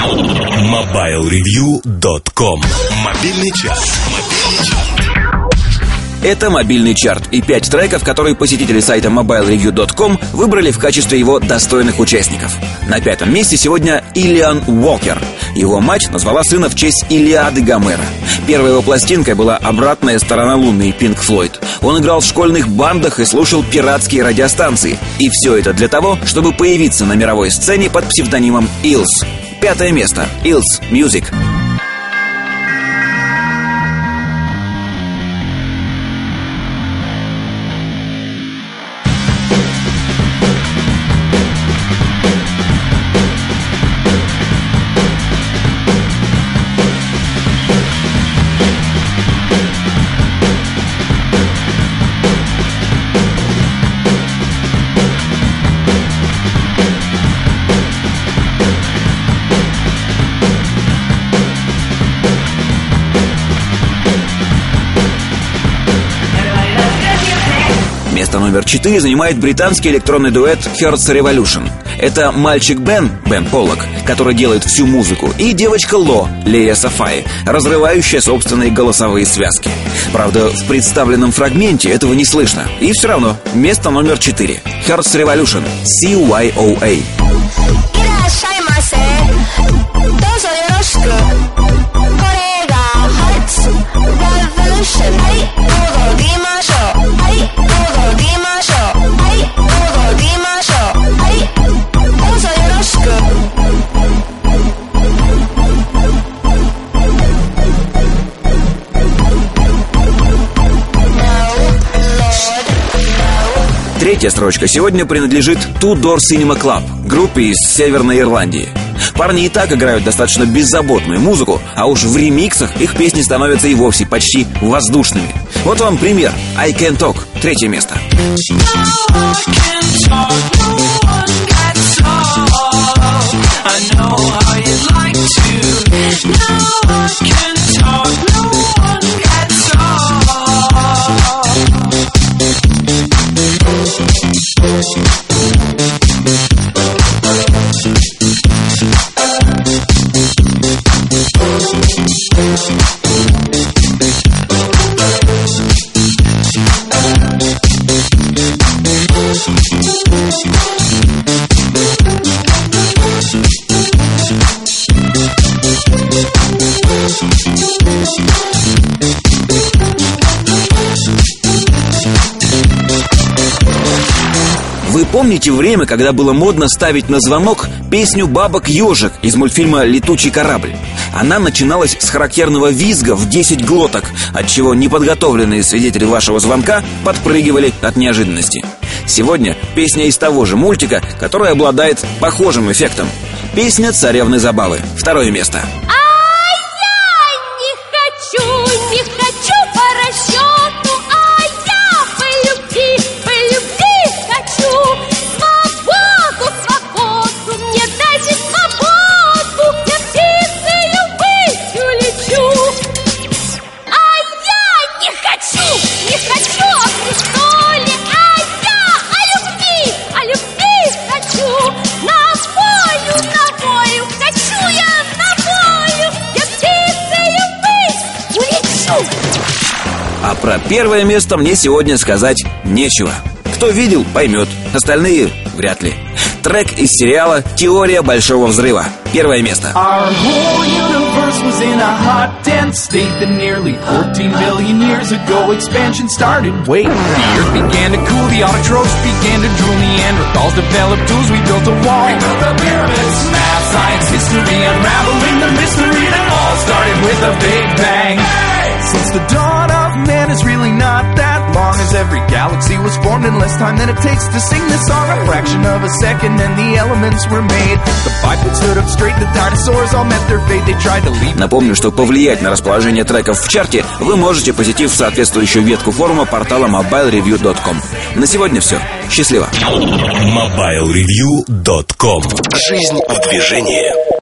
MobileReview.com. Мобильный час. Это мобильный чарт и 5 треков, которые посетители сайта MobileReview.com выбрали в качестве его достойных участников. На 5-м месте сегодня Иллиан Уокер. Его мать назвала сына в честь Илиады Гомера. Первой его пластинкой была «Обратная сторона Луны» Pink Floyd. Он играл в школьных бандах и слушал пиратские радиостанции. И все это для того, чтобы появиться на мировой сцене под псевдонимом Илс. 5-е место. Илс Music. Место номер 4 занимает британский электронный дуэт Hearts Revolution. Это мальчик Бен Поллок, который делает всю музыку, и девочка Ло, Лея Сафаи, разрывающая собственные голосовые связки. Правда, в представленном фрагменте этого не слышно. И все равно, место номер 4. Hearts Revolution, CYOA. Третья строчка сегодня принадлежит Two Door Cinema Club, группе из Северной Ирландии. Парни и так играют достаточно беззаботную музыку, а уж в ремиксах их песни становятся и вовсе почти воздушными. Вот вам пример. I Can Talk, 3-е место. Вы помните время, когда было модно ставить на звонок песню «Бабок-ежик» из мультфильма «Летучий корабль»? Она начиналась с характерного визга в 10 глоток, отчего неподготовленные свидетели вашего звонка подпрыгивали от неожиданности. Сегодня песня из того же мультика, которая обладает похожим эффектом. Песня «Царевны забавы», 2-е место. А про 1-е место мне сегодня сказать нечего. Кто видел, поймет, остальные вряд ли. Трек из сериала «Теория большого взрыва», 1-е место. Since the dawn of man is really not that long, as every galaxy was formed in less time than it takes to sing this song. A fraction of a second and the elements were made. The bipeds stood up straight, the dinosaurs all met their fate. They tried to leave. Напомню, что повлиять на расположение треков в чарте вы можете, посетив соответствующую ветку форума портала MobileReview.com. На сегодня все. Счастливо. MobileReview.com. Жизнь в движении.